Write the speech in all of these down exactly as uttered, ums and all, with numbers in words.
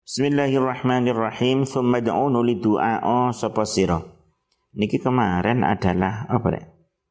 Bismillahirrahmanirrahim. Tsumma da'unu lidu'a sapa sira. Niki kemarin adalah apa rek?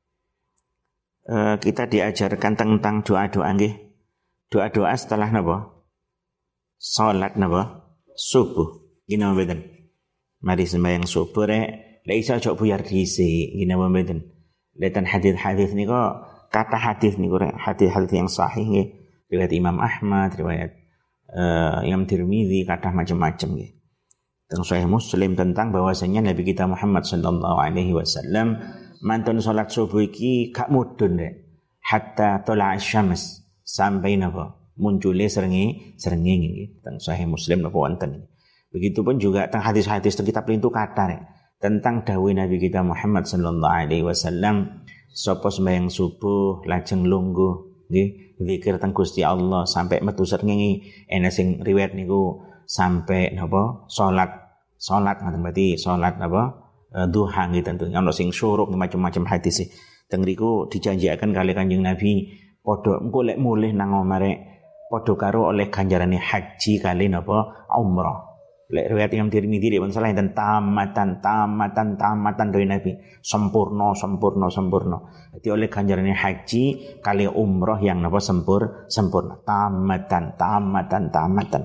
E, kita diajarkan tentang doa-doa nggih. Doa-doa setelah napa? Salat napa? Subuh. Gina mboten. Mari sembahyang subuh rek, lek iso aja buyar dhisik. Gina mboten. Letan hadis-hadis niku kata hadis niku rek, hadis-hadis yang sahih nggih. Riwayat Imam Ahmad, riwayat Uh, Imam Tirmidzi, kata macam-macam ya. Tentang Sahih Muslim tentang bahwasanya Nabi kita Muhammad sallallahu alaihi wasallam mantun salat subuh iki gak mudun rek hatta tala asy-syams sampai napa muncule srenge srenge nggih. Tentang Sahih Muslim napa wonten. Begitupun juga tentang hadis-hadis tentang kitab lintu kata rek tentang dawuh Nabi kita Muhammad sallallahu alaihi wasallam sapa sembahyang subuh lajeng lungguh nggih zikir teng Gusti Allah sampai metu srengenge ana sing riwayat niku sampai napa salat salat ngoten berarti salat napa e, duha nggih tentu ana sing syuruk macam-macam hadis e teng riku dijanjikan kali Kanjeng Nabi padha engko lek mulih nang omare padha karo oleh ganjarane haji kali napa umrah. Lek riwayat Imam Tirmidzi dhewe salah enten tamatan tamatan tamatan dari Nabi sempurna sempurna sempurna. Jadi oleh ganjarannya haji kali umroh yang napa sempur sempurna tamatan tamatan tamatan.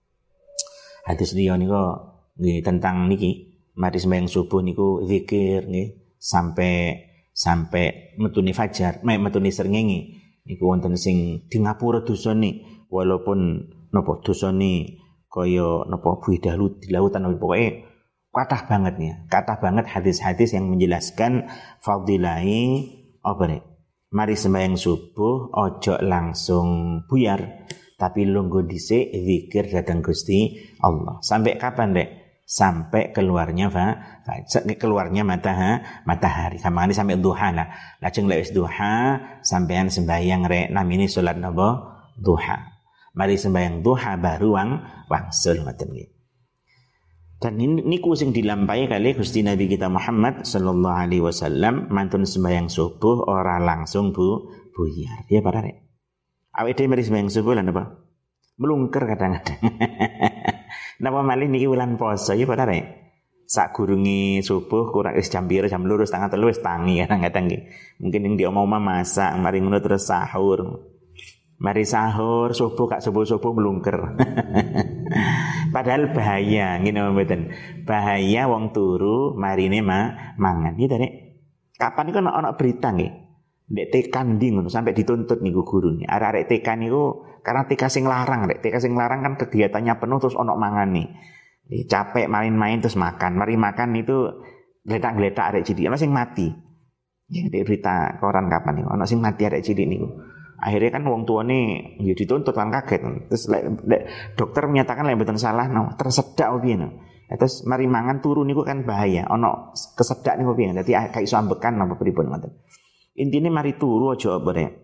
Hadis liya niku nggih tentang niki mari sembahyang subuh niku zikir nggih sampai sampai metune fajar, mek metune srengenge niku wonten sing di ngapura dosane walaupun napa dosane kaya napa buih dahulu di lautan pokoke kathah banget ya kathah banget hadis-hadis yang menjelaskan fadilai apa nek mari sembahyang subuh ojo langsung buyar tapi lungguh dhisik zikir dhateng Gusti Allah sampai kapan Dek? Sampai keluarnya fa keluarnya matahari matahari kamane sampai duha lah lajeng lek wis duha sampean sembahyang rek namine salat napa duha. Mari sembahyang duha baru wang wangsul ngoten nggih. Dan niku sing dilampahi kali Gusti Nabi kita Muhammad sallallahu alaihi wasallam mantun sembahyang subuh ora langsung bu buyar. Ya para rek. Awake dhewe mari sembahyang subuh lan apa? Melungker kadang-kadang. Napa malih niki wulan poso ya para rek. Sak gurunge subuh kurang wis jam pira jam loro setengah telu wis tangi kadang-kadang nggih. Mungkin ning di omah-omah masak mari ngono terus sahur. Mari sahur, subuh kak subuh-subuh melungker. Padahal bahaya, ngene mboten. Bahaya wong turu marine mah mangan. Gitu Rek. Kapan iku ana berita nggih. Ndek T K ndi ngono sampai dituntut niku gurune. Arek-arek T K niku karena T K sing larang, Rek. T K sing larang kan kegiatannya penuh terus ana mangane. Capek main-main terus makan. Mari makan itu gletak-gletak arek cilik. Ana sing mati. Ya berita koran kapan niku ana sing mati arek cilik niku. Akhirnya kan wong tuane ya dituntut kan kaget. Terus le, le, dokter menyatakan lek mboten salah no, tersedak piye no. Terus mari mangan turu niku kan bahaya. Ono kesedak niku piye. Dadi gak iso ambekan napa pripun ngoten. Intine mari turu aja apa rek.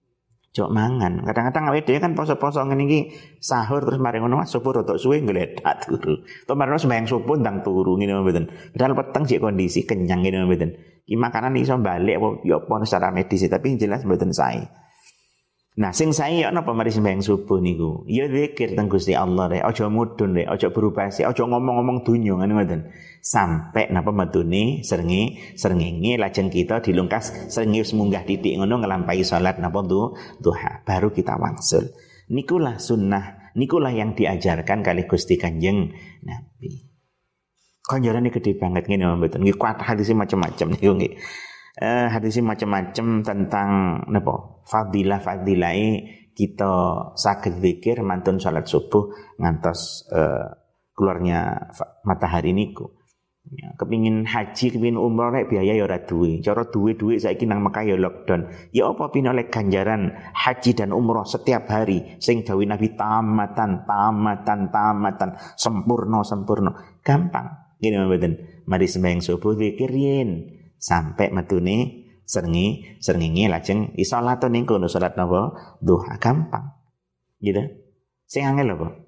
Aja mangan. Kadang-kadang awake dhewe kan poso-poso ngene iki sahur terus mari ngono subuh rodok suwe ngledak turu. To marino sembahyang subuh ndang turu ngene mboten. Padahal peteng sik kondisi kenyang ngene mboten. Iki makanan iso balik apa ya apa secara medis tapi jelas mboten sae. Nah, sing sae ya napa mari sembahyang subuh niku. Ya zikir teng Gusti Allah rek, aja mudhun rek, aja berubah sih, aja ngomong-ngomong dunya ngene ngoten. Sampai napa metune srenge srengenge lajeng kita dilungkas srenge wis munggah titik ngono nglampahi salat napa duha, baru kita wangsul. Nikulah sunnah, nikulah yang diajarkan kali Gusti Kanjeng Nabi. Ganjarane gede banget ngene mboten. Nggih kuat hadis macam-macam niku nggih. Uh, hadis macam-macam tentang napa fadilah fadilai kita saged zikir mantun salat subuh ngantos uh, keluarnya matahari niku. Ya, kepingin haji kepingin umroh rek biaya ya ora duwe. Cara duwe-duwe saiki nang Mekah ya lockdown. Ya apa pin oleh ganjaran haji dan umroh setiap hari sing dawuh Nabi tamatan tamatan tamatan sempurna sempurna. Gampang. Ngene mboten. Mari sembahyang subuh zikir yen sampai metune srenge srengenge lajeng salat ning kono salat napa duha gampang gitu sing angel apa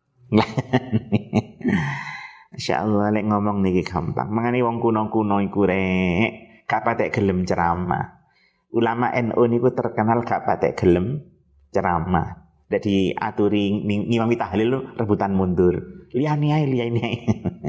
insyaallah lek ngomong niki gampang mangane wong kuno-kuno iku rek gak patek gelem ceramah ulama N U niku terkenal gak patek gelem ceramah Nek diaturi ngimami tahlil rebutan mundur. Liyane ae liyane ae.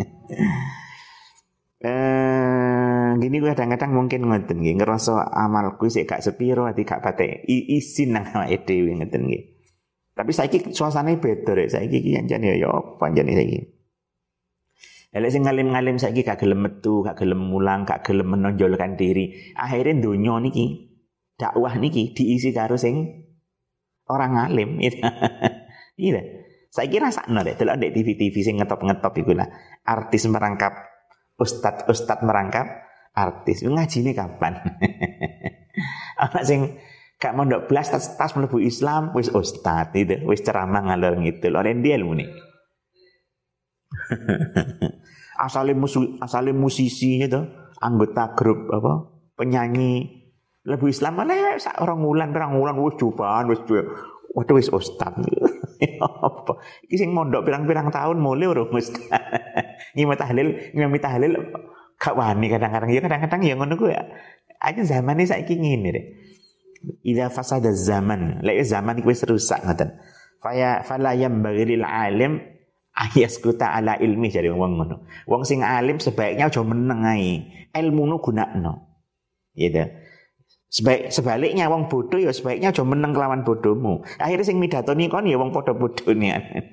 Eh gini gue kadang-kadang mungkin ngoten nggih ngerasa amalku sik gak sepiro ati gak patek izin nang awake dhewe ngoten nggih. Tapi saiki suasanane beda rek saiki iki jan ya yo panjane saiki. Elek sing ngalim-ngalim saiki gak gelem metu, gak gelem mulang, gak gelem menonjolkan diri. Akhirnya donya niki dakwah niki diisi karo sing orang ngalim gitu. Iya. Saiki rasakno rek delok ndek T V-T V sing ngetop-ngetop iku lah. Artis merangkap ustad-ustad merangkap artis. Ngajine kapan? Ana sing gak mondok blas tas, tas mlebu Islam wis ustad itu, wis ceramah ngalor ngidul. Ora ndi ilmune. asale musu, asale musisi gitu, anggota grup apa? Penyanyi mlebu Islam malah sak orang wulan, pirang wulan wis cobaan wis waduh wis ustad. Apa? Iki sing mondok pirang-pirang tahun mulai urung ustad. Ngimami tahlil, ngimami tahlil gak wani kadang-kadang ya kadang-kadang ya ngono kuwi. Aja zamane saiki ngene rek. Idza fasada zaman, lek zaman iki wis rusak ngoten. Faya fala yambaghi lil alim ayaskuta ala ilmi jare wong ngono. Wong sing alim sebaiknya aja meneng ae. Ilmumu gunakno. Gitu. Sebaik sebaliknya wong bodoh ya sebaiknya aja meneng kelawan bodohmu. Akhirnya sing midatoni kon ya wong padha bodone.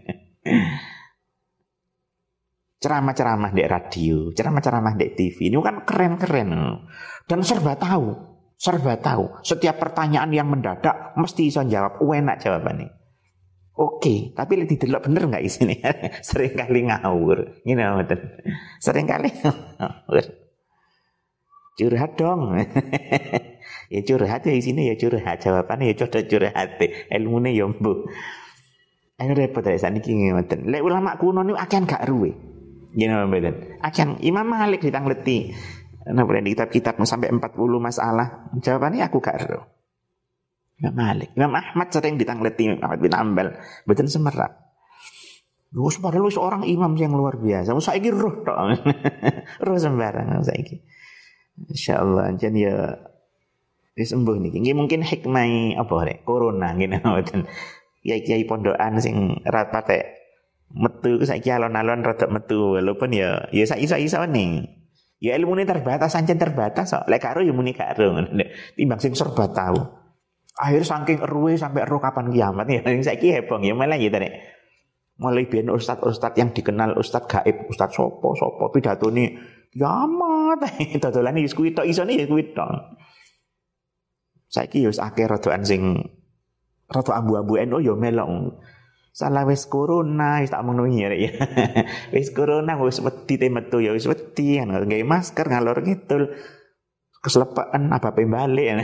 Ceramah-ceramah di radio, ceramah-ceramah di T V ini kan keren-keren dan serba tahu, serba tahu. Setiap pertanyaan yang mendadak mesti bisa jawab, enak jawabannya. Oke, tapi lihat didelok bener nggak isinya? Sering kali ngawur, you know, sering kali ngawur. Curhat dong. Ya curhat ya isinya ya curhat, jawabannya ya coba curhat, ilmunya ya mbuh. Ayo repot ya saniki ngoten. Lek ulama kuno niku akan gak ruwe. Gimana betul? Akan Imam Malik ditangleti. Nah, di kitab-kitab sampai empat puluh masalah. Jawabannya aku gak ero. Imam Malik. Imam Ahmad sering ditangleti Ahmad bin Ambal. Betul semerap. Lu padahal seorang imam yang luar biasa. Saiki roh tok. Roh sembarang saiki. Insyaallah jan ya wis sembuh niki. Nggih mungkin hikmah apa rek? Corona ngene ngoten. Kiai-kiai pondokan sing rat patek metu saiki alon-alon rada metu walaupun ya ya saiki-saiki ning. Ya ilmune terbatas sancen terbatas kok. Lek karo ya muni karo timbang sing serba tahu. Akhir saking eruwe sampai ero kapan kiamat ya saiki hebong ya malah ya rek. Mulai biyen ustad-ustad yang dikenal ustad gaib, ustad sopo-sopo pidatone kiamat. Dodolan iki kuwi tok isone ya kuwi tok. Saiki ya wis akeh rodokan sing rada ambu-ambu N U ya melok. Salah wis corona wis tak menuhi ya. Wis corona wis wedi te metu ya wis wedi kan nggawe masker ngalor ngidul. Keslepeken apa pembalik.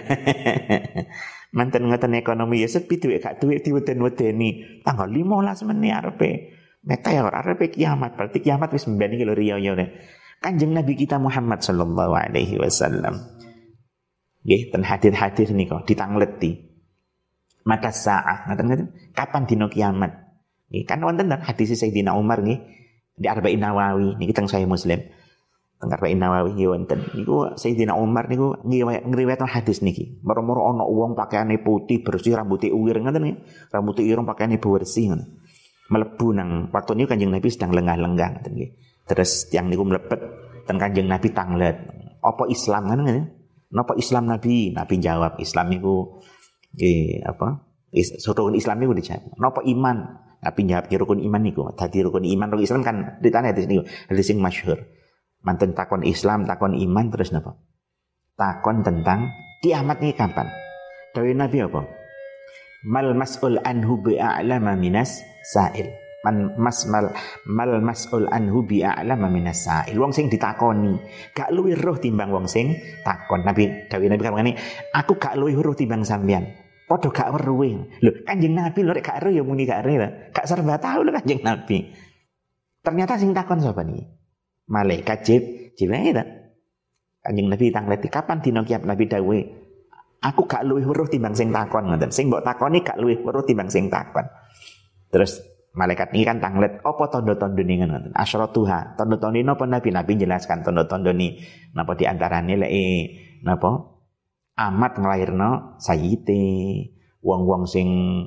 Manten ngoten ekonomi ya sepi duit gak duit diweden-wedeni. Tanggal lima belas menit arepe meteor arepe kiamat. Berarti kiamat wis mben iki lho riyo ya. Kanjeng Nabi kita Muhammad sallallahu alaihi wasallam. Nggih ten hadir-hadir nika ditangleti. Mata sa'ah ngaten-ngaten kapan dina kiamat. Nggih kan wonten hadis Sayyidina Umar nggih di Arba'in Nawawi niki teng Sahih Muslim. Teng Arba'in Nawawi nggih wonten. Niku Sayyidina Umar niku ngriwayatno hadis niki. Moro-moro ana wong pakaiane putih bersih rambutnya uwir ngaten nggih. Rambutnya ireng pakaiane bersih ngoten. Mlebu nang waktu niku Kanjeng Nabi sedang lenggah-lenggah ngaten nggih. Terus tiang niku mlebet ten Kanjeng Nabi tanglet. Apa Islam ngoten nggih? Napa Islam Nabi? Nabi jawab Islam niku nggih apa? Is, rukun Islam niku dijawab. Napa iman? Nabi jawab rukun iman niku. Dadi rukun iman rukun Islam kan ditanya hadis niku. Hadis sing masyhur. Manten takon Islam, takon iman terus napa? Takon tentang kiamat ini kapan? Dawuh Nabi apa? Mal mas'ul anhu bi'a'lama minas sa'il. Man masmal mal mas'ul anhu bi'a'lama minas sa'il. Wong sing ditakoni gak luwih roh timbang wong sing takon. Nabi dawuh Nabi kamane, aku gak luwih roh timbang sampean. Padha gak weruh. Lho, Kanjeng Nabi lho rek gak ero ya muni gak ero. Gak serba tahu lho Kanjeng Nabi. Ternyata sing takon sapa niki? Malaikat Jibril itu. Kanjeng Nabi tangleti kapan dina kiamat. Nabi dawuh, aku gak luwih weruh timbang sing takon ngoten. Sing mbok takoni gak luwih weruh timbang sing takon. Terus malaikat ini kan tanglet apa tanda-tanda ning ngoten. Asyratuha. Tanda-tanda napa Nabi Nabi jelaskan tanda-tanda ni napa di antarane lek napa amat nglairno sayyite wong-wong sing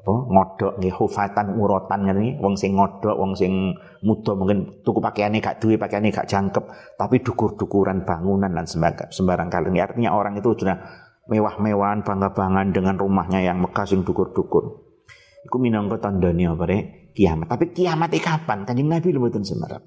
apa ngodok nggih hufatan urotan ngene wong sing ngodok wong sing muda mungkin tuku pakaiane gak duwe pakaiane gak jangkep tapi dukur-dukuran bangunan dan sembarang sembarang kali artinya orang itu sudah mewah-mewahan bangga-banggaan dengan rumahnya yang megah sing dukur-dukur iku minangka tandane apa rek kiamat tapi kiamat e kapan Kanjeng Nabi lho mboten semerap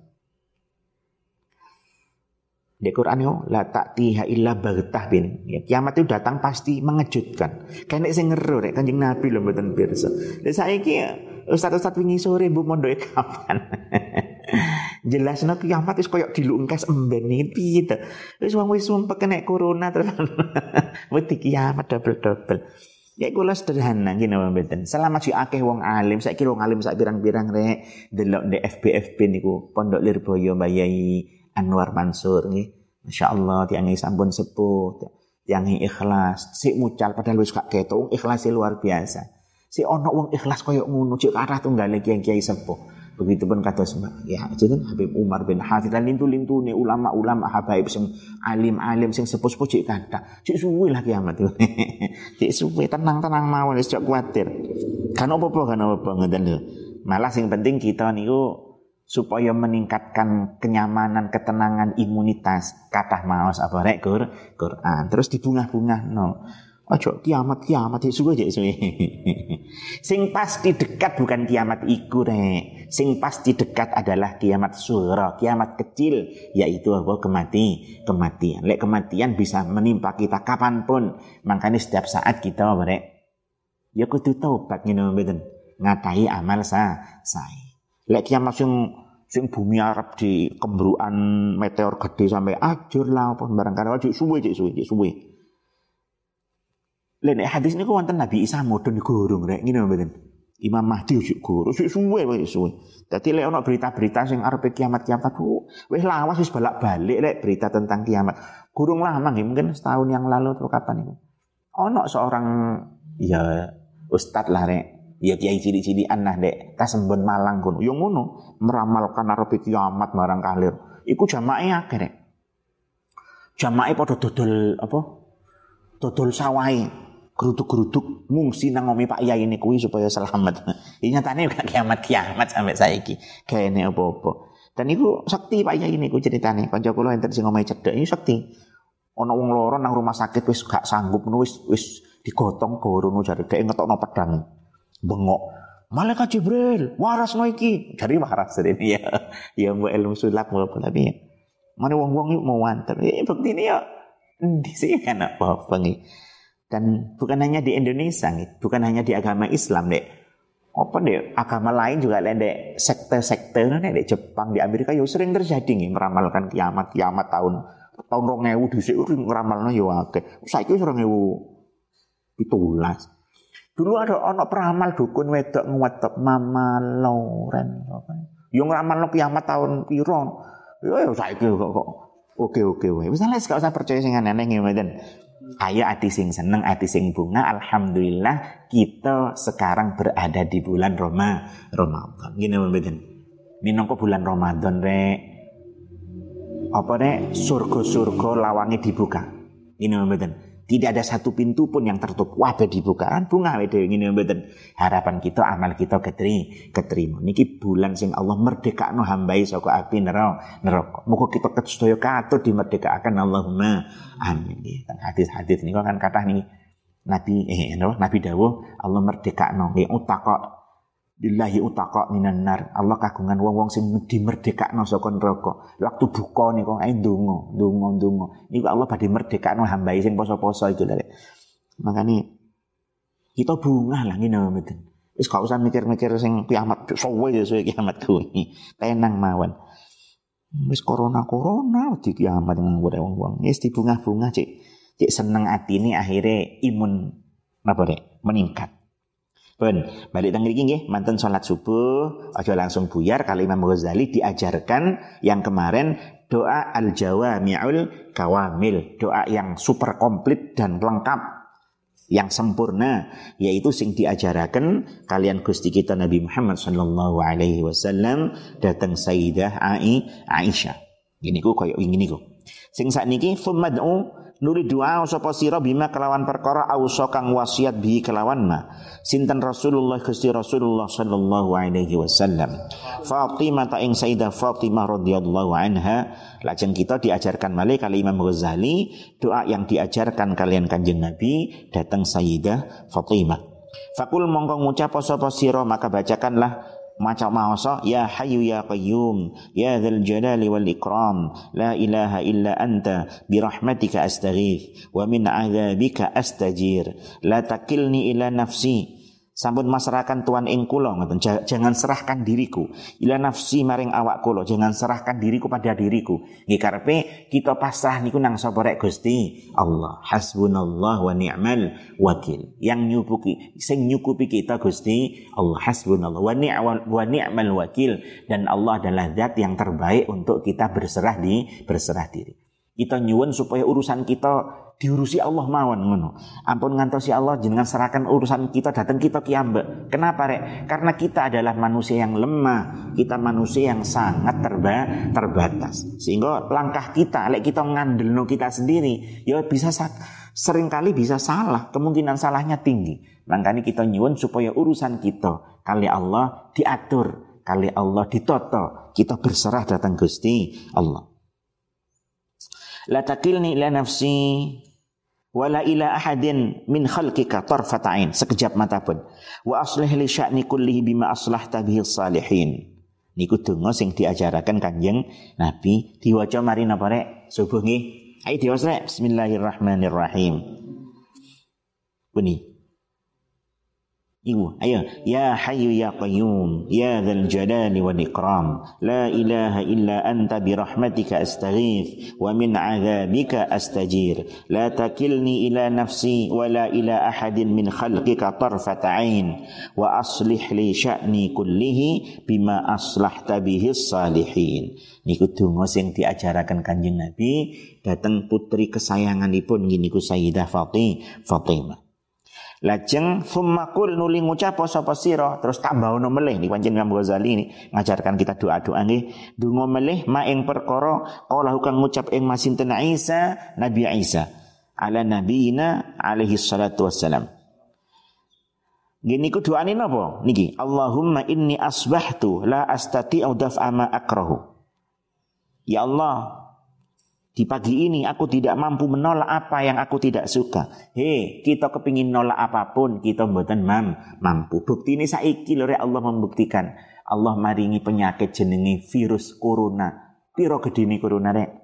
di Quran yo la ta'tiha illa baghtah bin. Ya, kiamat itu datang pasti mengejutkan. Kene sing ngero rek Kanjeng Nabi lho mboten pirsa. Lah saiki ustaz-ustaz wingi sore mbok mondoke kapan? Jelasno kiamat wis koyo dilungkas emben iki piye to. Wis wong wis sumpek kena corona terus. Wedi kiamat double-double. Ya kula sederhana ngene mboten. Selama si akeh wong alim, saiki wong alim sak pirang-pirang rek delok di F B F B niku Pondok Lirboyo Mbah Yai Anwar Mansur nggih. Masyaallah tiange sampun sepuh, tiange ikhlas, sik mucal padahal wis gak ketok, ikhlase luar biasa. Sik ana wong ikhlas koyo ngono, cek kathah tunggale kiai-kiai sepuh. Begitupun kados Mbak ya jeneng Habib Umar bin Hafidz lan lintu-lintune ulama-ulama habaib sing alim-alim sing sepuh-sepuh cek kathah. Cek suwe lah kiamat. Cek suwe tenang-tenang mawon wis cek kuwatir. Kan apa-apa kan apa-apa ngoten lho. Malah sing penting kita niku supaya meningkatkan kenyamanan, ketenangan, imunitas. Kathah maos apa rek Quran. Terus dibungah-bungah no. Ojo kiamat kiamat suwe jek suwe. Sing pasti dekat bukan kiamat iku rek. Sing pasti dekat adalah kiamat sughra, kiamat kecil yaitu apa kemati, kematian. Lek kematian bisa menimpa kita kapanpun. Makanya setiap saat kita apa rek ya kudu taubat ngene mboten. Ngadahi amal sa sae. Lek kiamat sing sing bumi Arab di kembruan meteor gede sampai ajur lah apa barang karo cek suwe cek suwe cek suwe. Lek nek hadis niku wonten Nabi Isa mudhun gorong rek ngene mboten. Imam Mahdi cek gorong cek suwe wae suwe. Dadi lek ana berita-berita sing arepe kiamat-kiamat wis lawas wis balak-balik lek berita tentang kiamat. Gorong lama nggih mungkin setahun yang lalu atau kapan itu. Ana seorang ya ustaz lah rek ya kiai cilik-cilikan nah dek Kasembon Malang kono yo ngono meramalkan arepe kiamat marang kalir iku jamae akeh rek jamae padha dodol apa dodol sawahe geruduk-geruduk ngungsi nang omahe Pak Yai niku supaya selamat iki nyatane gak kiamat-kiamat sampai saiki gaene apa-apa dan iku sekti Pak Yai niku ceritane kanca kula enten sing omahe cedhek iki sekti ana wong loro nang rumah sakit wis gak sanggup wis wis digotong gorono jare gek ngetokno pedang bengok malaikat Jibril waras no iki dari waras ini ya ya mbok ilmu sulap apa tapi ya mane wong-wong yuk mau wanter ya bektine ya endi sih kan apa-apa nih dan bukan hanya di Indonesia nih bukan hanya di agama Islam dek apa dek agama lain juga lain dek sekte-sekte nek dek Jepang di Amerika yo sering terjadi nih meramalkan kiamat kiamat tahun tahun dua ribu dhisik ngeramalno yo akeh saiki wis dua ribu pitulas. Dulu ada anak peramal dukun wedok ngwetep Mama Lauren apa. Yo ngeramalno kiamat tahun piro. Yo yo saiki kok kok oke-oke wae. Wis gak usah percaya sing aneh-aneh ngene. Ayo ati sing seneng, ati sing bunga. Alhamdulillah kita sekarang berada di bulan Roma, Ramadan. Gini mboten. Minangka bulan Ramadan rek. Apa rek surga-surga lawange dibuka. Gini mboten. Tidak ada satu pintu pun yang tertutup. Wabe dibuka kan bunga wae ngene mboten. Harapan kita amal kita ketri, keterima. Niki bulan sing Allah merdekakno hambai saka api neraka. Muga kita sedaya katut dimerdekakaken Allahumma amin. Nggih. Hadis-hadis niku kan kathah niki Nabi eh Nabi dawuh Allah merdekakno nggih utaqa billahi utaqa minan nar. Allah kagungan wong-wong sing dimerdekakno saka neraka. Waktu buka niku ae ndonga, ndonga, ndonga. Niku Allah badhe merdekakno hambae sing poso-poso itu lho. Makane kita bungah lah ngene mboten. Wis gak usah mikir-mikir sing kiamat suwe ya suwe kiamat kuwi. Tenang mawon. Wis corona-corona di kiamat nang wong-wong. Wis dibungah-bungah cek cek seneng atine akhire imun napa rek meningkat. Pun balik teng mriki nggih manten salat subuh aja langsung buyar kali Imam Ghazali diajarkan yang kemarin doa al-jawami'ul kawamil, doa yang super komplit dan lengkap yang sempurna yaitu sing diajaraken kalian Gusti kita Nabi Muhammad sallallahu alaihi wasallam datang Sayyidah Ai Aisyah. Gini ku koyo ngene niku. Sing sakniki fumad'u nuli doa sapa sira bima kelawan perkara ausa kang wasiat bi kelawan ma sinten Rasulullah Gusti Rasulullah sallallahu alaihi wasallam Fatimah ta ing Sayyidah Fatimah radhiyallahu anha. Lajeng kita diajarkan malih kali Imam Ghazali doa yang diajarkan kalian Kanjeng Nabi datang Sayyidah Fatimah. Fakul mongko ngucap sapa sira maka bacakanlah maca maosa ya hayyu ya qayyum ya dzal jalali wal ikram la ilaha illa anta bi rahmatika astaghith wa min adzabika astajir la takilni ila nafsi. Sampun masrahaken tuan ing kula ngoten, jangan serahkan diriku ila nafsi maring awak kula, jangan serahkan diriku pada diriku. Nggih karepe kita pasrah niku nang sapa rek Gusti Allah. Hasbunallah wa ni'mal wakil. Yang nyupuki sing nyukupi kita Gusti Allah. Hasbunallah wa ni'mal wa ni'mal wakil, dan Allah adalah zat yang terbaik untuk kita berserah di berserah diri. Kita nyuwun supaya urusan kita diurusi Allah mawon ngono. Ampun ngantosi Allah jenengan serahkan urusan kita datang kita kiambek. Kenapa rek? Karena kita adalah manusia yang lemah, kita manusia yang sangat terba terbatas. Sehingga langkah kita lek kita ngandelno kita sendiri, ya bisa seringkali bisa salah, kemungkinan salahnya tinggi. Makanya kita nyuwun supaya urusan kita kali Allah diatur, kali Allah ditoto, kita berserah datang Gusti Allah. La takilni ila nafsi wala ila ahadin min khalqika tarfata'in, sekejap mata pun. Wa aslih li sya'ni kullihi bima aslahta bihi salihin. Niku donga sing diajaraken Kanjeng Nabi. Diwaca mari napa rek? Subuh nggih. Ayo diwaca rek. Bismillahirrahmanirrahim. Bunyi. Ibu, ayo. Ya hayyu ya qayyum ya dzal jalali wal ikram la ilaha illa anta bi rahmatika astaghith wa min adzabika astajir la takilni ila nafsi wa la ila ahadin min khalqika tarfata ain wa aslih li sya'ni kullihi bima aslahta bihi salihin. Niku donga sing diajaraken Kanjeng Nabi dateng putri kesayanganipun niku Sayyidah Fatimah. Lajeng fumakul nuli ngucap sapa sira terus tambahono melih niki pancen Imam Ghazali ini ngajarkan kita doa-doa nggih donga melih ma ing perkara kala kang ngucap ing masinten Isa Nabi Isa ala nabiyina alaihi salatu wassalam. Nggih niku doane napa niki Allahumma inni asbahtu la astati'u daf'a ma akrahu. Ya Allah, di pagi ini aku tidak mampu menolak apa yang aku tidak suka. Hei, kita kepingin nolak apapun, kita mboten mam, mampu. Bukti ini saiki lho rek Allah membuktikan. Allah maringi penyakit jenenge virus corona. Piro gedene corona rek?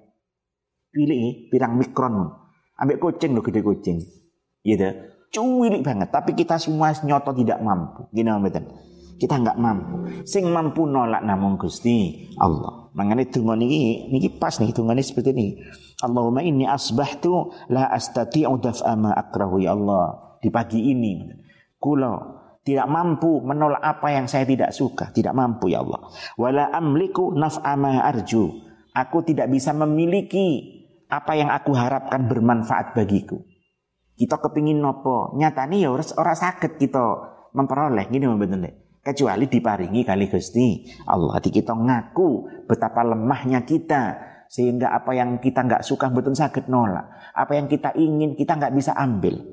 Pilih pirang mikron. Ambek kucing lho gede kucing. Iya dah. Cuwilik banget, tapi kita semua nyoto tidak mampu. Gini mboten. Kita enggak mampu. Sing mampu nolak namung Gusti Allah. Mangane donga niki niki pas niki dongane seperti ini. Allahumma inni asbahtu la astati'u daf'a ma akrahu ya Allah. Di pagi ini kula tidak mampu menolak apa yang saya tidak suka, tidak mampu ya Allah. Wala amliku naf'a ma arju. Aku tidak bisa memiliki apa yang aku harapkan bermanfaat bagiku. Kita kepingin nopo, nyatane ya ora ora saged kita memperoleh gini mboten nek. Kecuali diparingi kali Gusti Allah. Hati kita ngaku betapa lemahnya kita sehingga apa yang kita enggak suka betul saged nolak. Apa yang kita ingin kita enggak bisa ambil.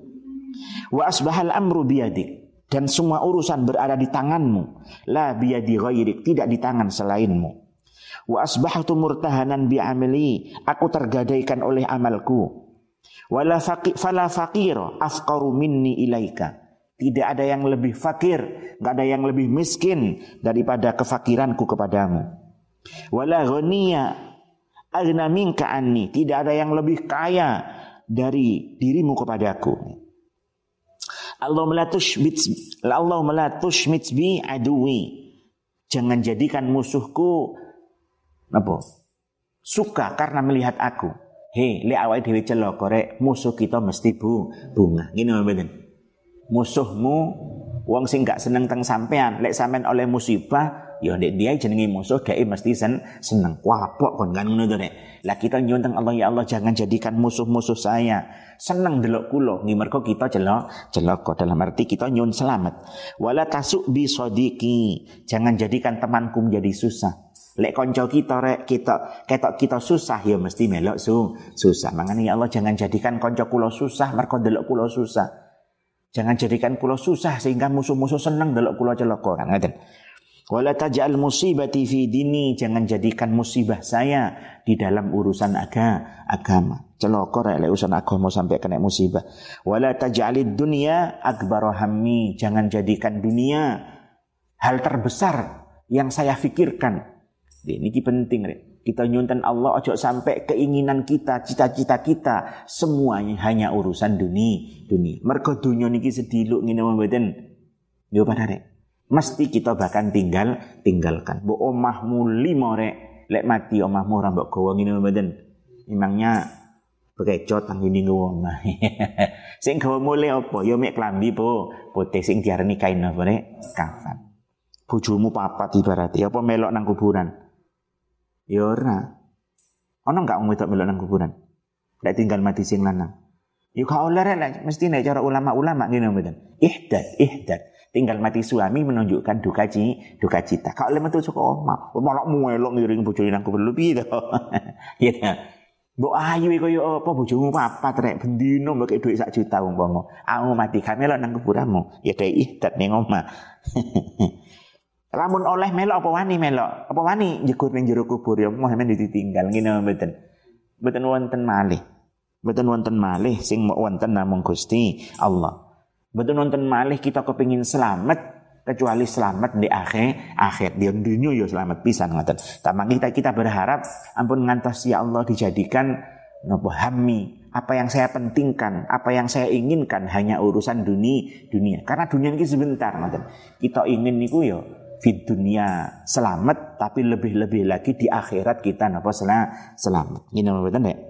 Wa asbahal amru biyadik, dan semua urusan berada di tanganmu. La biyadi ghairik, tidak di tangan selainmu. Wa asbahtu murtahanan bi'amali, aku tergadaikan oleh amalku. Wala faqi fala faqira afqaru minni ilaika. Tidak ada yang lebih fakir, enggak ada yang lebih miskin daripada kefakiranku kepadamu. Wala ghaniya aghna minka anni, tidak ada yang lebih kaya dari dirimu kepadaku. Allahumma la tushmit Allahumma la tushmit bi aduwi. Jangan jadikan musuhku apa? Suka karena melihat aku. Hei, lek awake dhewe celaka rek, musuh kita mesti bu, bunga. Ngene mboten. Musuhmu wong sing gak seneng teng sampean, lek sampean oleh musibah ya ndek dia jenenge musuh dhek mesti sen, seneng wapok kon kan ngono to nek. Lah kita nyuwun teng Allah, ya Allah jangan jadikan musuh-musuh saya seneng delok kula nggih mergo kita celok celaka, dalam arti kita nyuwun selamat. Wala tasuk bi sadiqi, jangan jadikan temanku menjadi susah. Lek konco kita rek kita ketok kita susah ya mesti melok su susah. Makanya ya Allah jangan jadikan konco kula susah mergo delok kula susah. Jangan jadikan kula susah sehingga musuh-musuh seneng delok kula celaka kan ngoten. Wala taj'al musibati fi dini, jangan jadikan musibah saya di dalam urusan aga, agama. Celaka rek lek urusan agama sampai kena musibah. Wala taj'alid dunya akbar hammi, jangan jadikan dunia hal terbesar yang saya pikirkan. Ini penting rek. Kita nyunten Allah ojo sampai keinginan kita, cita-cita kita semuanya hanya urusan dunia, dunia. Mergo dunia niki sediluk ngene mboten. Yo padha rek. Mesti kita bahkan tinggal tinggalkan. Mbok omahmu limo rek, lek mati omahmu ora mbok gawa ngene mboten. Emangnya bekecot nang ngene omah. Sing gawa mule apa? Ya mek klambi po, putih sing diarani kain apa rek? Kafan. Bojomu papat ibarate apa melok nang kuburan? Ya ora. Ono enggak wong wedok melok nang kuburan? Lek tinggal mati sing lanang. Ya gak oleh rek, mesti nek cara ulama-ulama ngene mboten. Ihdad, ihdad. Tinggal mati suami menunjukkan duka cita, duka cita. Kak oleh metu saka omah, malah melok ngiring bojone nang kuburan piye to. Ya ta. Mbok ayu kaya apa bojomu papat rek bendino mbok dhuwit sak juta umpama. Aku mati gak melok nang kuburanmu. Ya dai ihdad ning omah. Lamun oleh melok apa wani melok? Apa wani njegur ning jero kubur ya moh men ditinggal ngene mboten. Mboten wonten malih. Mboten wonten malih sing mok wonten namung Gusti Allah. Mboten wonten malih kita kepengin selamat kecuali selamat di akhir akhir di dunia ya selamat pisan ngoten. Tamang kita kita berharap ampun ngantos ya Allah dijadikan napa hammi, apa yang saya pentingkan, apa yang saya inginkan hanya urusan dunia dunia. Karena dunia ini sebentar ngoten. Kita ingin niku ya fid dunia selamat, tapi lebih-lebih lagi di akhirat kita napa selamat. Ngene mboten nek.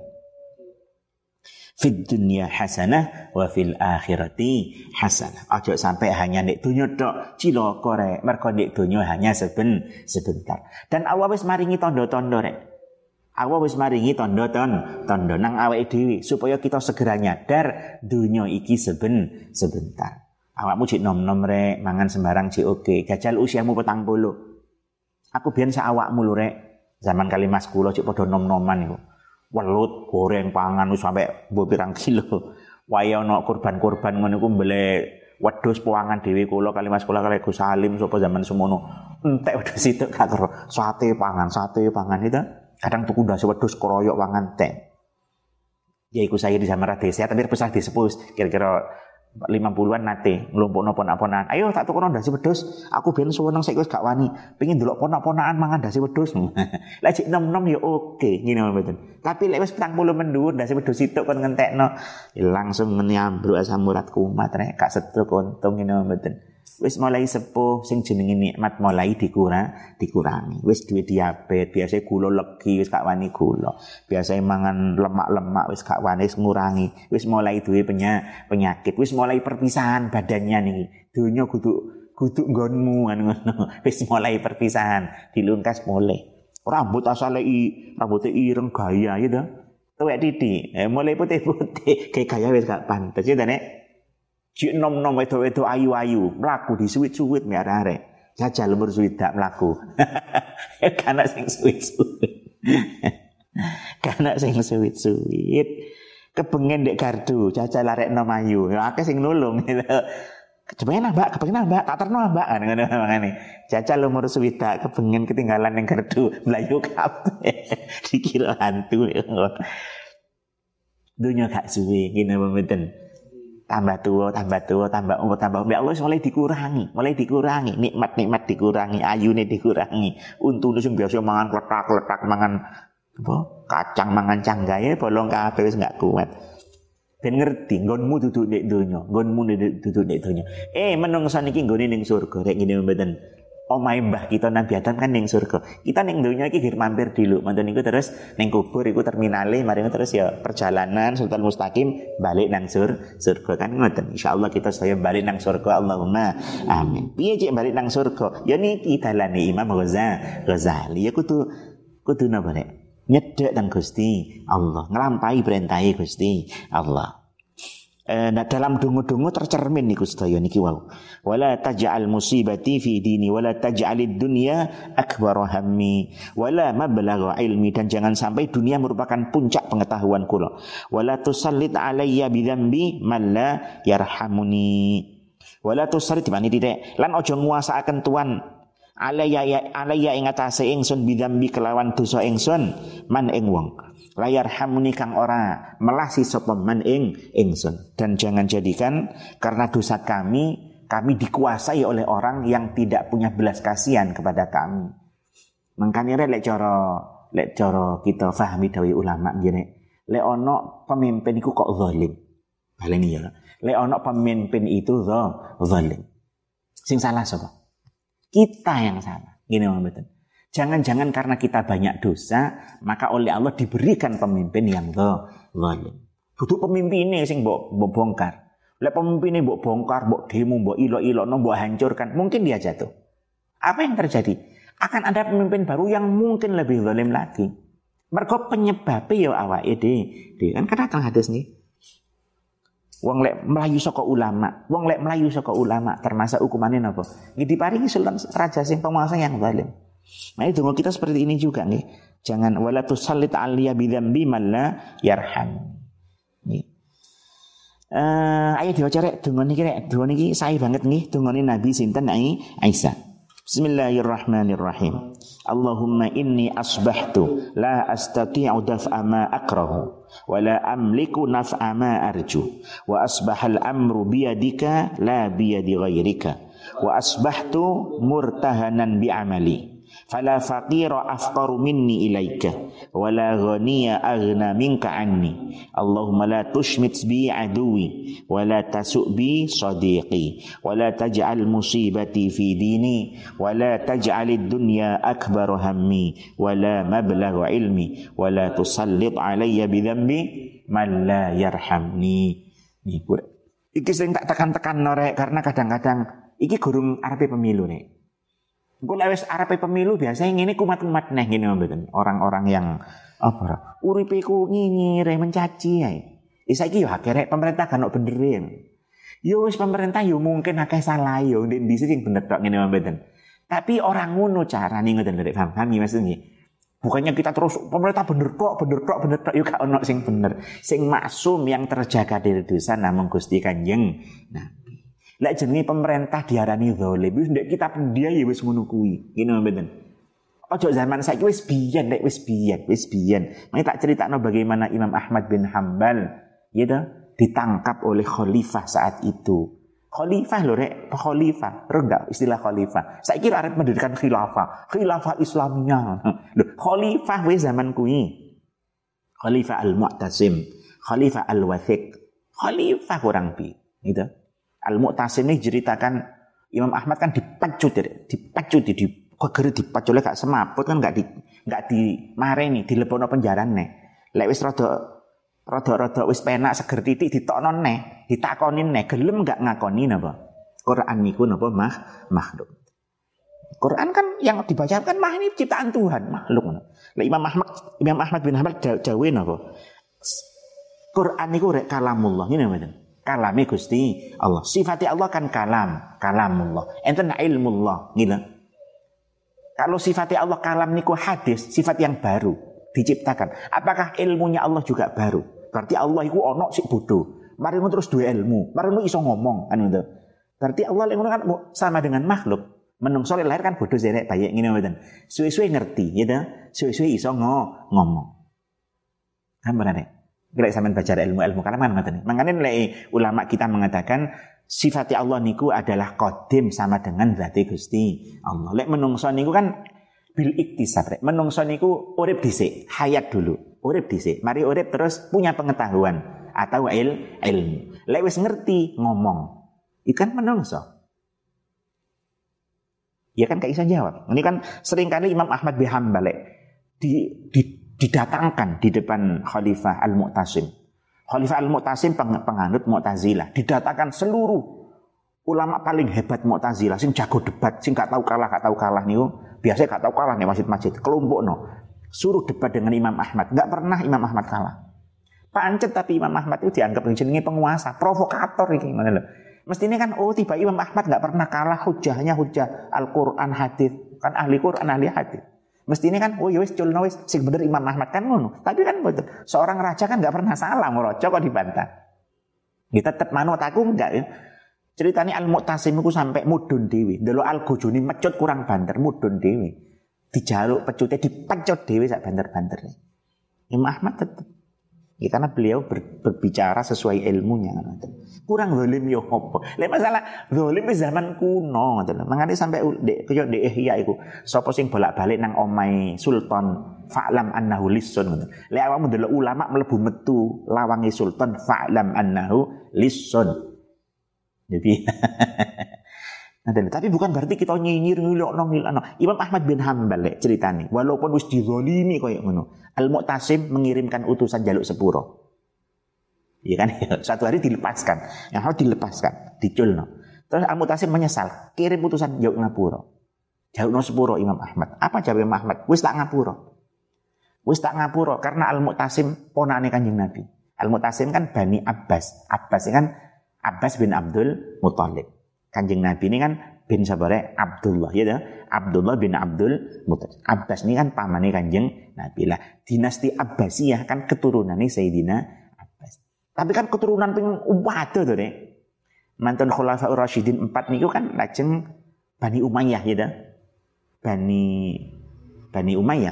Fid dunya hasanah wa fil akhirati hasanah. Aja sampai hanya nek dunya tok cilaka rek. Mergo nek dunya hanya seben sebentar. Dan Allah wis maringi tanda-tanda rek. Allah wis maringi tanda-tanda nang awake dhewe supaya kita segera nyadar dunya iki seben sebentar. Awakmu cek nom-nom rek, mangan sembarang cek oke. Jajal usiamu petang puluh. Aku biyen sak awakmu lho rek. Zaman kali mas kula cek padha nom-noman iku. Welut, goreng pangan wis sampe mbok pirang kilo. Waya ana kurban-kurban ngono iku mbelek wedhus puangan dhewe kula kali mas kula kali Gus Salim sapa zaman semono. Entek wedhus itu gak kero. Sate pangan, sate pangan itu. Kadang tuku ndase wedhus kroyok pangan teh. Ya iku saya di Samara Desa tapi pesah disepuh kira-kira lima puluhan nate nglumpukno ponak-ponakan. Ayo tak tukono ndase wedhus. Aku ben suweneng saiki wis gak wani. Pengin ndelok ponak-ponakan mangan ndase wedhus. Lah cek nom-nom ya oke, ngene mboten. Tapi lek wis petang puluh mendhuwur ndase wedhus situk kon ngentekno, langsung nyambruk asam urat kumat rek, gak setruk untung ngene mboten. Wis mulai sepuh sing jenenge nikmat mulai dikurang, dikurangi. Wis duwe diabetes, biasa gula legi wis gak wani gula. Biasa mangan lemak-lemak wis gak wani ngurangi. Wis mulai duwe penyakit, wis mulai perpisahan badannya niki. Donya kudu kudu nggonmu ngono. Wis mulai perpisahan, dilungkas mulai. Rambut asale i, rambute ireng gaya gitu. Tuwek titik, eh, mulai putih-putih, kayak gaya wis gak pantes ya nek. Cik nom-nom wedok-wedok ayu-ayu, mlaku disuwit-suwit mek arek. Jajal umur swidak mlaku. Kana sing suwit-suwit. Kana sing suwit-suwit. Kepengen ndek gardu, jajal arek nom ayu. Ya akeh sing nulung gitu. Kepengen Mbak, kepengen Mbak, tak terno Mbak ngono mangane. Jajal umur swidak kepengen ketinggalan ning gardu, mlayu kabeh. Dikira hantu. Dunya gak suwe ngene mboten. Tambah tua, tambah tua, tambah umur, tambah umur. Allah mulai dikurangi, mulai dikurangi. Nikmat-nikmat dikurangi, ayune dikurangi. Untune sing biasa mangan kletak-kletak, mangan apa? Kacang, mangan canggahe, bolong kabeh wis enggak kuat. Ben ngerti, nggonmu duduk nek donya, nggonmu duduk nek donya. Eh, menungsa niki nggone ning surga, rek ngene mboten. Omahe mbah kita Nabi Adam kan ning surga. Kita ning donya iki gir mampir dulu. Manten niku terus ning kubur iku terminale, mari terus ya perjalanan sultan mustaqim balik nang sur surga kan ngoten. Insyaallah kita saya balik nang surga Allahumma amin. Piye cek balik nang surga? Ya niki dalane Imam Ghazali. Ya kudu kudu napa rek? Nyedhek nang Gusti Allah, nglampahi perintahe Gusti Allah. Eh, nah dalam dungu-dungu tercermin niku sedaya niki wau. Wala taj'al musibati fi dini wala taj'alid dunya akbar hammi wala mablagha ilmi, dan jangan sampai dunia merupakan puncak pengetahuan kula. Wala tusallit alayya bidzambi man la yarhamuni. Wala tusallit bani titik lan aja nguasaaken tuan alayya alayya ing atase ingsun bidzambi kelawan dosa ingsun man ing wong layar hamuni kang ora melasi sapa man ing ingsun, dan jangan jadikan karena dosa kami kami dikuasai oleh orang yang tidak punya belas kasihan kepada kami. Mangkane lek cara lek cara kita fahami dawuh ulama ngene, lek ana pemimpin iku kok zalim. Baleni ya. Lek ana pemimpin itu zalim. Sing salah sapa? Kita yang salah. Ngene mboten. Jangan-jangan karena kita banyak dosa, maka oleh Allah diberikan pemimpin yang zalim. Dudu pemimpin ini sing mbok bongkar. Lek pemimpin ini mbok bongkar, mbok demo, mbok ilok-ilokno, mbok hancurkan, mungkin dia jatuh. Apa yang terjadi? Akan ada pemimpin baru yang mungkin lebih zalim lagi. Mergo penyebabnya ya awake dhewe. Kan kada teng hadis nih. Wong lek melayu saka ulama, wong lek melayu saka ulama, termasuk hukumane napa? Nggih diparingi sultan raja sing penguasa yang zalim. Nah itu kita seperti ini juga nih. Jangan wala tusallit aliyya bidzambi man la yarham. Nih. Eh ayo diwaca rek donga niki rek. Donga niki sae banget nggih dongane Nabi sinten Aisyah. Bismillahirrahmanirrahim. Allahumma inni asbahtu la astati'u daf'a ma akrahu wa la amliku naf'a ma arju wa asbahal amru biyadika la biyadi ghairika wa asbahtu murtahanan bi'amali fala faqira afqaru minni ilaika wala ghaniya aghna minka anni Allahumma la tushmit bi aduwi wala tasu' bi sadiqi wala taj'al musibati fi dini wala taj'alid dunya akbar hammi wala mablagha ilmi wala tusallit alayya bi dhanbi man la yarhamni. Niku iki sing tak tekan-tekan norek karena kadang-kadang iki gurung arepe pemilu nek. Engko lek wis arepe pemilu biasanya ngene kumat-kumat neh ngene mboten. Orang-orang yang apa uripe ku nyinyire mencaci ae. Saiki yo akeh rek pemerintah kan ono benere. Yo wis pemerintah yo mungkin akeh salah yo ndek ndi sing bener tok ngene mboten. Tapi orang ngono carane ngoten lho paham paham maksudnya. Bukannya kita terus pemerintah bener tok bener tok bener tok yo gak ono sing bener. Sing maksum yang terjaga dari dosa namung Gusti Kanjeng. Nah lek jenenge pemerintah diarani zalim, wis ndek kitab dia ya wis ngono kuwi. Ngene mboten. Ojo zaman saiki wis biyen, nek wis biyen, wis biyen. Mari tak critakno bagaimana Imam Ahmad bin Hambal ya toh ditangkap oleh khalifah saat itu. Khalifah lho rek, khalifah. Ro enggak istilah khalifah. Saiki arep mendirikan khilafah, khilafah Islamiyah. Lho, khalifah wis zaman kuwi. Khalifah Al-Mu'tasim, Khalifah Al-Wathiq. Khalifah kurang bi, gitu. Al-Mu'tasim ini ceritakan Imam Ahmad kan dipacut, dipacut, di kegeri dipacut oleh gak semaput kan gak di gak dimareni, dilebono penjarane. Lek wis rada rada-rada wis penak seger titik ditokno neh, ditakoni neh, gelem gak ngakoni napa? Quran niku napa mah makhluk. Quran kan yang dibaca kan mah ini ciptaan Tuhan, makhluk. Lek Imam Ahmad Imam Ahmad bin Hanbal dawuh napa? Quran niku rek kalamullah, ngene mboten. Kalame Gusti Allah. Sifati Allah kan kalam, kalamullah. Enten ilmullah, gitu. Kalau sifati Allah kalam niku hadis, sifat yang baru diciptakan. Apakah ilmunya Allah juga baru? Berarti Allah iku ono sik bodoh. Mari terus duwe ilmu, mari iso ngomong kan gitu. Berarti Allah lek kan sama dengan makhluk. Menungso lahir kan bodoh zerek bayi ngene mboten. Suwe-suwe ngerti, gitu. Suwe-suwe iso ngomong. Kan berarti Bila sampean baca ilmu-ilmu kalaman ngoten. Makane lek ulama kita mengatakan sifat Allah niku adalah qadim sama dengan zati Gusti Allah. Lek menungso niku kan bil iktisab rek. Menungso niku urip dhisik, hayat dulu. Urip dhisik, mari urip terus punya pengetahuan atau il, ilmu. Lek wis ngerti ngomong. Ikan menungso. Ya kan gak iso jawab. Ini kan seringkali Imam Ahmad bin Hanbal di di didatangkan di depan Khalifah Al-Mu'tasim. Khalifah Al-Mu'tasim penganut Mu'tazilah. Didatangkan seluruh ulama paling hebat Mu'tazilah, sing jago debat, sing gak tahu kalah, gak tahu kalah niku. Biasanya gak tahu kalah nih masjid-masjid. Kelompok no. Suruh debat dengan Imam Ahmad. Gak pernah Imam Ahmad kalah. Pancet tapi Imam Ahmad itu dianggap jenenge penguasa, provokator iki ngono lho. Mestine kan oh tiba Imam Ahmad enggak pernah kalah hujahnya hujah Al-Qur'an hadis, kan ahli Qur'an ahli hadis. Mestine kan oh ya wis culno wis sing bener Imam Ahmad kan ngono. Tapi kan betul. Seorang raja kan enggak pernah salah ngoroco kok dibantah. Kita tetep manut aku enggak ya. Ceritane Al-Mu'tasim iku sampai mudun dhewe. Ndelok Al-Gojoni mecut kurang banter mudun dhewe. Dijaluk pecute dipecut dhewe sak banter-banterne. Imam Ahmad tetep ya, karena beliau ber, berbicara sesuai ilmunya. Kurang zalim yo apa? Lek masalah zalim wis zaman kuno ngoten lho. Mangane sampai dek kaya ndek ihya iku sapa sing bolak-balik nang omahe sultan fa'lam annahu lisun ngoten. Lek awakmu ndelok ulama mlebu metu lawange sultan fa'lam annahu lisun. Jadi tapi bukan berarti kita nyinyir ngilokno ngilokno. Imam Ahmad bin Hanbal lek ceritane walaupun wis dizalimi koyo ngono. Al-Mu'tasim mengirimkan utusan jaluk sepuro. Iya kan? Satu hari dilepaskan. Yang harus dilepaskan, diculno. Terus Al-Mu'tasim menyesal, kirim utusan jauh ngapura. Jalukno sepuro Imam Ahmad. Apa jawab Imam Ahmad? Wis tak ngapura. Wis tak ngapura karena Al-Mu'tasim ponakane Kanjeng Nabi. Al-Mu'tasim kan Bani Abbas. Abbas ini kan Abbas bin Abdul Muthalib. Kanjeng Nabi ini kan bin sabare Abdullah ya dah. Abdullah bin Abdul Muthalib. Abbas ini kan pamane Kanjeng Nabi lah. Dinasti Abbasiyah kan keturunannya Sayyidina Abbas. Tapi kan keturunan ping umpata tuh deh. Mantan Khulafaur Rasyidin empat niku kan lajeng Bani Umayyah ya dah. Bani Bani Umayyah.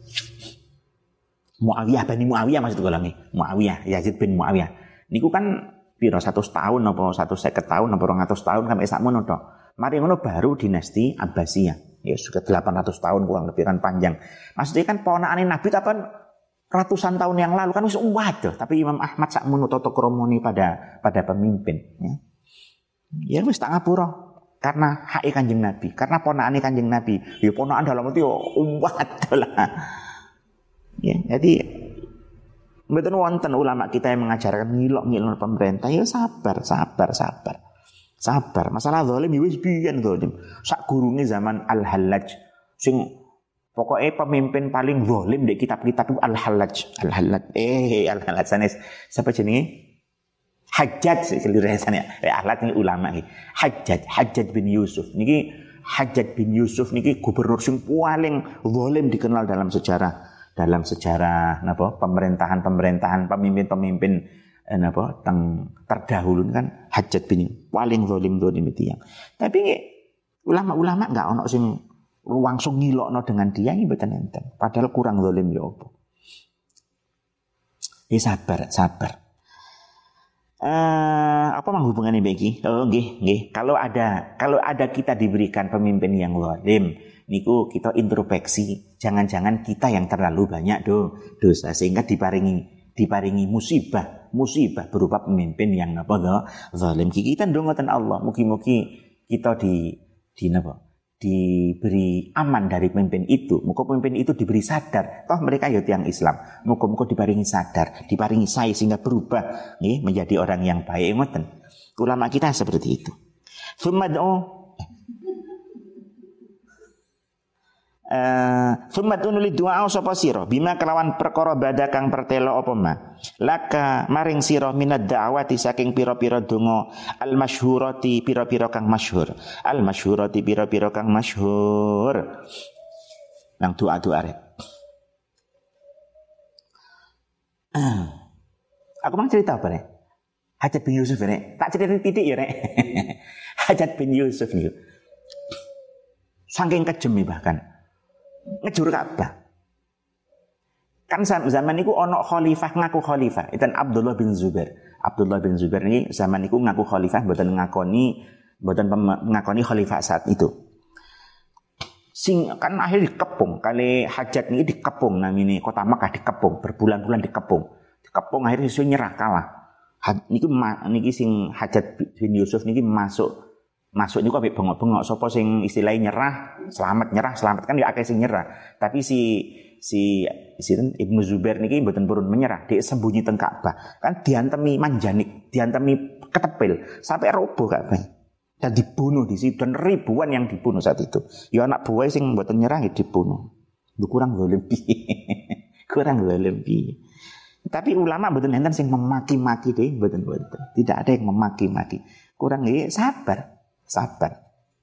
Muawiyah Bani Muawiyah maksud kula nggih. Muawiyah Yazid bin Muawiyah. Niku kan piro seratus tahun apa seratus lima puluh tahun apa dua ratus tahun sampai sakmono tok. Mari ngono baru dinasti Abbasiyah. Ya sudah delapan ratus tahun kurang lebih kan panjang. Maksudnya kan ponakane Nabi kapan ratusan tahun yang lalu kan wis waduh, tapi Imam Ahmad sakmono tata kramane pada pada pemimpin ya. Ya wis tak ngapura karena hak Kanjeng Nabi, karena ponakane Kanjeng Nabi. Ya ponakan dalam itu waduh lah. Ya, jadi mboten wonten ulama kita yang mengajarkan ngilok-ngilok pemerintah. Ya sabar, sabar, sabar. Sabar. Masalah zalim ya wis biyen zalim. Sak gurunge zaman Al-Hallaj sing pokoke pemimpin paling zalim di kitab-kitab itu Al-Hallaj. Al-Hallaj. Eh, Al-Hallaj sanes siapa jenenge? Hajjaj kelirasane. Eh, Al-Hallaj ini ulama iki. Hajjaj, Hajjaj bin Yusuf. Niki Hajjaj bin Yusuf niki gubernur sing paling zalim dikenal dalam sejarah. Dalam sejarah napa pemerintahan-pemerintahan pemimpin-pemimpin eh, napa teng terdahulu kan Hajjaj bin paling zalim zalim itu yang. Tapi ulama-ulama enggak ono sing langsung ngilokno dengan dia ini mboten enten. Padahal kurang zalim ya apa. Ya sabar, sabar. Eh apa menghubungane beki? Oh nggih, nggih. Kalau ada kalau ada kita diberikan pemimpin yang zalim, niku kita introspeksi, jangan-jangan kita yang terlalu banyak do, dosa sehingga diparingi diparingi musibah, musibah berupa pemimpin yang apa do, zalim. Kita ndonga ten Allah, mugi-mugi kita di di napa? Diberi aman dari pemimpin itu. Muga pemimpin itu diberi sadar. Toh mereka ya tiyang Islam. Muga-muga diparingi sadar, diparingi sae sehingga berubah nggih menjadi orang yang baik ngoten. Ulama kita seperti itu. Sumad'u Eh, sumat unuli doa sapa sira bima kelawan perkara bada kang pertelo apa ma laka maring sira minad da'wati saking pira-pira donga al masyhurati pira-pira kang masyhur al masyhurati pira-pira kang masyhur nang doa-doa rek. Aku mau cerita apa rek? Hajjaj bin Yusuf rek. Tak cerita titik ya rek. Hajjaj bin Yusuf niku saking kejem bahkan ngejur Ka'bah. Kan zaman niku ono khalifah ngaku khalifah, itu Abdullah bin Zubair. Abdullah bin Zubair ini zaman niku ngaku khalifah mboten ngakoni mboten ngakoni khalifah saat itu. Sing kan akhir dikepung kali Hajjaj niki dikepung namine kota Makkah dikepung berbulan-bulan dikepung. Dikepung akhirnya iso nyerah kalah. Niku niki sing Hajjaj bin Yusuf niki masuk Masuk niku ambek bengok-bengok sapa sing istilahnya nyerah, selamat nyerah, selamat kan ya akeh sing nyerah. Tapi si si si Ibnu Zubair niki mboten purun menyerah, dia sembunyi teng Ka'bah. Kan diantemi manjanik, diantemi ketepil sampai roboh Ka'bah. Dan dibunuh di situ dan ribuan yang dibunuh saat itu. Ya anak buah sing mboten nyerah ya dibunuh. Lu kurang zalim piye. Kurang zalim piye. Tapi ulama mboten enten sing memaki-maki deh, mboten mboten. Tidak ada yang memaki-maki. Kurang nggih sabar, sabar.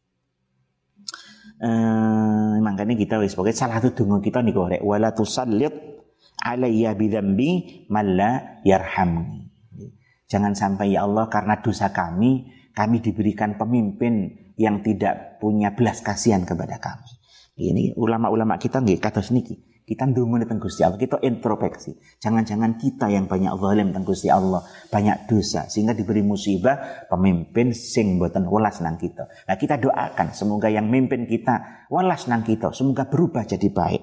Eh makanya kita wis pokoke salah satu donga kita niku rek wala tusallit alayya bidzambi malla yarhamni. Jangan sampai ya Allah karena dosa kami kami diberikan pemimpin yang tidak punya belas kasihan kepada kami. Ini ulama-ulama kita nggih kados niki. Kita ndonga teng Gusti Allah, kita introspeksi. Jangan-jangan kita yang banyak zalim teng Gusti Allah, banyak dosa sehingga diberi musibah pemimpin sing mboten welas nang kita. Nah, kita doakan semoga yang mimpin kita welas nang kita, semoga berubah jadi baik.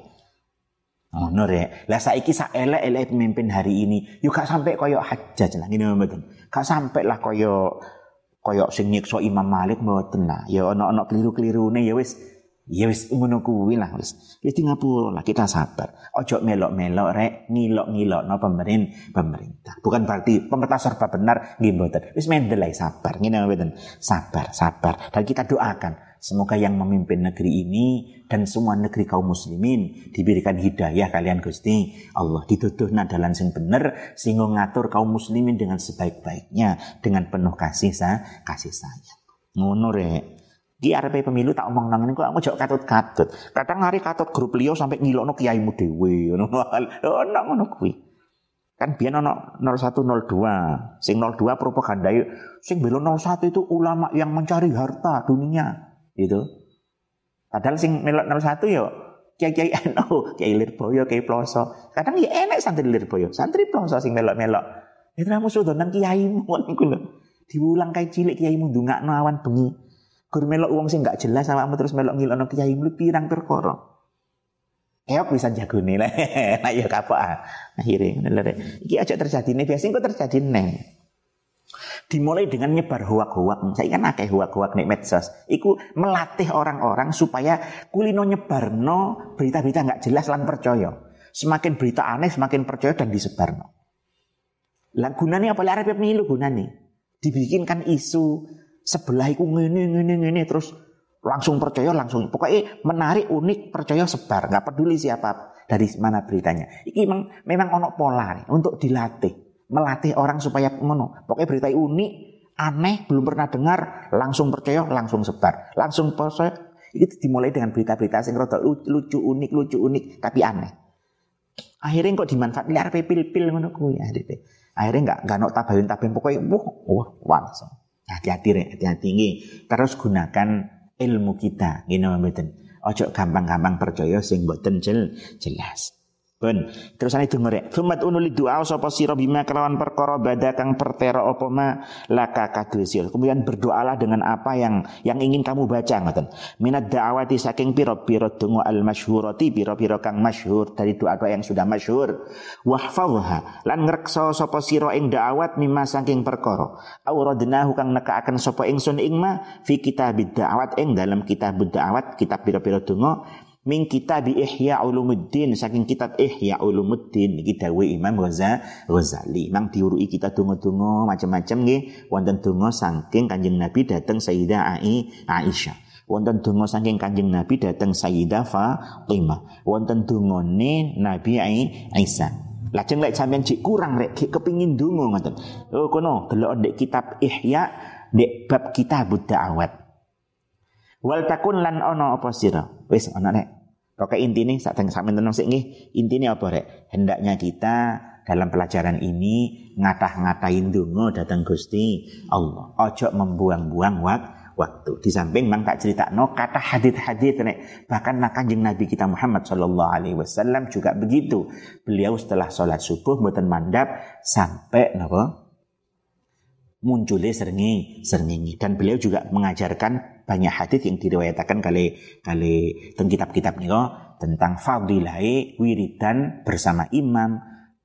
Ngono rek. Lah saiki sak elek-elek pemimpin hari ini, yo gak sampai koyo Hajjaj lah ngene mboten. Gak sampai lah koyo koyo sing nyiksa Imam Malik mboten lah. Ya ana-ana keliru-kelirune ya wis. Ya wis ngono kuwi lah wis. Wis di ngapura lah kita sabar. Ojo melok-melok rek ngilok-ngilokno pemerintah pemerintah. Bukan berarti pemerintah serba benar nggih mboten. Wis mendel ae sabar. Ngene mboten. Sabar, sabar. Dan kita doakan semoga yang memimpin negeri ini dan semua negeri kaum muslimin diberikan hidayah kalian Gusti Allah, dituduhna dalan sing bener sehingga ngatur kaum muslimin dengan sebaik-baiknya dengan penuh kasih sa kasih sayang. Ngono rek. Ki arepe pemilu tak omong nang niku aku jek katut-katut. Kadang hari katut grup liya sampai ngilokno kiaimu dhewe ngono. Ono ngono kuwi. Kan biyen ono nol satu nol dua. Sing nol dua propagandae sing bela nol satu itu ulama yang mencari harta dunia, gitu. Padahal sing melok nol satu yo kiai-kiai N U, Kiai Lirboyo, Kiai Ploso. Kadang ya enek santri Lirboyo, santri Ploso sing melok-melok. Itu namu sudah nang kiaimu niku lho. Diulang kae cilik kiaimu ndongakno awan bengi. Gur melok wong sing gak jelas awakmu terus melok ngilokno kiai mlu pirang perkara. Keok bisa jagone lah. Nah ya kapok ah. Akhire ngono lho. Iki aja terjadine biasane kok terjadi neng. Dimulai dengan nyebar hoak-hoak. Saya kan akeh hoak-hoak nek medsos. Iku melatih orang-orang supaya kulino nyebarno berita-berita gak jelas lan percaya. Semakin berita aneh semakin percaya dan disebarno. Lah gunane apa lek arep pemilu gunane? Dibikinkan isu sebelah iku ngene ngene ngene terus langsung percaya langsung pokoknya menarik unik percaya sebar nggak peduli siapa dari mana beritanya. Iki memang memang ono pola nih, untuk dilatih melatih orang supaya ngono pokoknya berita unik aneh belum pernah dengar langsung percaya langsung sebar langsung percaya. Itu dimulai dengan berita-berita sing rada lucu unik lucu unik tapi aneh. Akhirnya kok dimanfaatkan arep pil-pil ngono kuwi akhirnya akhirnya nggak nggak nok tabayun tabayun pokoknya wah wah langsung. Hati-hati rek, hati-hati nggih. Terus gunakan ilmu kita, ngene mboten. Ojo gampang-gampang percaya sing mboten jelas. Pun terusane donga rek. Fumat unuli doa sapa sira bima kelawan perkara bada kang pertera apa ma laka kadhesil. Kemudian berdoalah dengan apa yang yang ingin kamu baca ngoten. Minad da'awati saking pira-pira donga al masyhurati pira-pira kang masyhur dari doa-doa yang sudah masyhur. Wahfazha lan ngreksa sapa sira ing da'awat mimma saking perkara. Auradnahu kang nekaaken sapa ingsun ing ma fi kitabid da'awat ing dalam kitab da'awat kitab pira-pira donga min kitab Ihya Ulumuddin saking kitab Ihya Ulumuddin iki dawuh Imam Ghazali. Nang diurui kita donga-donga macam-macam nggih. Wonten donga saking Kanjeng Nabi dhateng Sayyidah Aisyah. Wonten donga saking Kanjeng Nabi dhateng Sayyidah Fatimah. Wonten dongane Nabi Isa. Lajeng lek sampeyan cik kurang rek kepingin donga ngoten. Oh kono delok ndek kitab Ihya ndek bab kitab da'awat. Wal takun lan ono apa sira? Wis ana nek. Pokoke intine sak sampeyan tenang sik nggih. Intine apa rek? Hendaknya kita dalam pelajaran ini ngatah-ngatahin donga dhateng Gusti Allah. Ojo membuang-buang waktu. Di samping mang tak critakno kata hadits-hadits nek bahkan Kanjeng Nabi kita Muhammad sallallahu alaihi wasallam juga begitu. Beliau setelah salat subuh mboten mandap sampai napa? Munculnya serngi, serngi. Dan beliau juga mengajarkan banyak hadis yang diriwayatkan kali kali tentang kitab-kitab niko tentang fadilai wiridan bersama imam,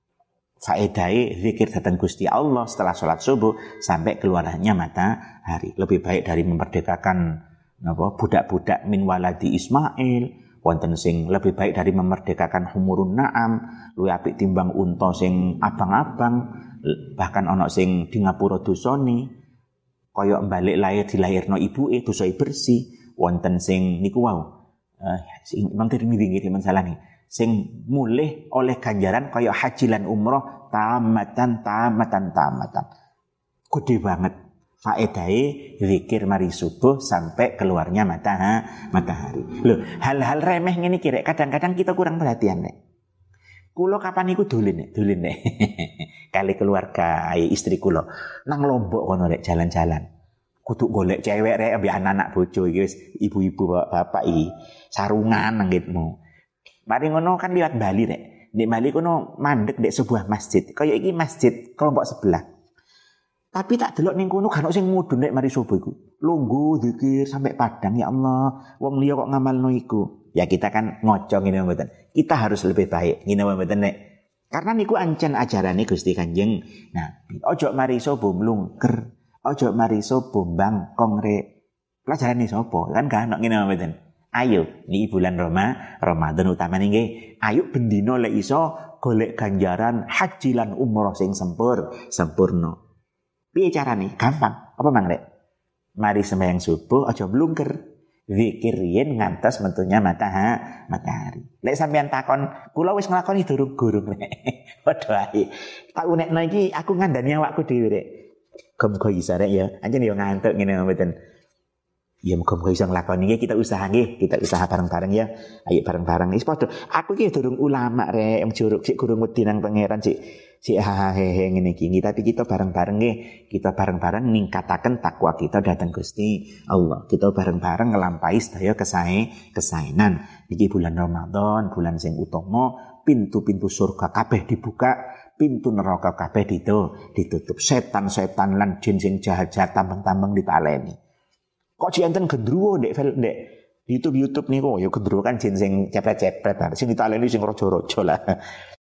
faedai zikir datang Gusti Allah setelah sholat subuh sampai keluarnya matahari. Lebih baik dari memerdekakan apa budak-budak min waladi Ismail. Wonten sing lebih baik dari memerdekakan humurun na'am, luwih apik timbang unta sing abang-abang, bahkan ana sing di ngapura dosane kaya balik lahir dilahirno ibuke dosae bersih. Wonten sing niku wau eh sing Imam Tirmidzi nggih masalah nih. sing mulih oleh ganjaran kaya haji lan umroh tamatan tamatan tamatan. Gede banget faedahe zikir mari subuh sampai keluarnya matahari. Loh, hal-hal remeh ngene iki kadang-kadang kita kurang perhatian nek. Kulo kapan iku dolen nek, dolen nek. Kali keluarga istri kulo nang Lombok kono rek jalan-jalan. Kudu golek cewek rek ambek anak-anak bojo iki wis ibu-ibu bapak iki sarungan nang ngitmu. Mari ngono kan liwat Bali rek. Di Bali kono mandek dek sebuah masjid. Kaya iki masjid kelompok sebelah. Tapi tak delok ning kono kan sing mudhun nek mari subuh iku. Lungguh zikir sampai padang ya Allah. Wong liya kok ngamalno iku. Ya kita kan ngocong ngene mboten. Kita harus lebih baik ngene mboten nek. Karena niku ancen ajarane Gusti Kanjeng Nabi. Ojo mari subuh mlungker. Ojo mari subuh bangkong rek. Pelajarane sapa? Kan gak ono ngene mboten. Ayo, ini bulan Roma, Ramadan utama nggih. Ayo bendino lek iso golek ganjaran haji lan umroh sing sempur, sempurna. Piye carane? Gampang. Apa mang rek? Mari sembahyang subuh aja blungker. Zikir yen ngantos mentunya matahari. matahari. Lek sampean takon, kula wis nglakoni durung-gurung rek. Padha ae. Tak unekno iki aku ngandani awakku dhewe rek. Muga iso rek ya. Anjen yo ngantuk ngene mboten. Ya muga-muga iso nglakoni iki kita usaha nggih, kita usaha bareng-bareng ya. Ayo bareng-bareng wis padha. Aku iki durung ulama rek, njuruk sik gurung wedi nang pangeran sik sik ha he ngene iki. Tapi kita bareng-bareng nggih, kita bareng-bareng ningkataken takwa kita dhateng Gusti Allah. Kita bareng-bareng ngelampahi sedaya kesae kesaenan. Iki bulan Ramadan, bulan sing utama, pintu-pintu surga kabeh dibuka, pintu neraka kabeh ditutup. Setan-setan lan jin sing jahat-jahat tambang-tambang ditaleni. Kok enten gendruwo ndek ndek YouTube-YouTube niku ya gendruwo kan jin sing cepet-cepet sing ditaleni sing raja-raja lah.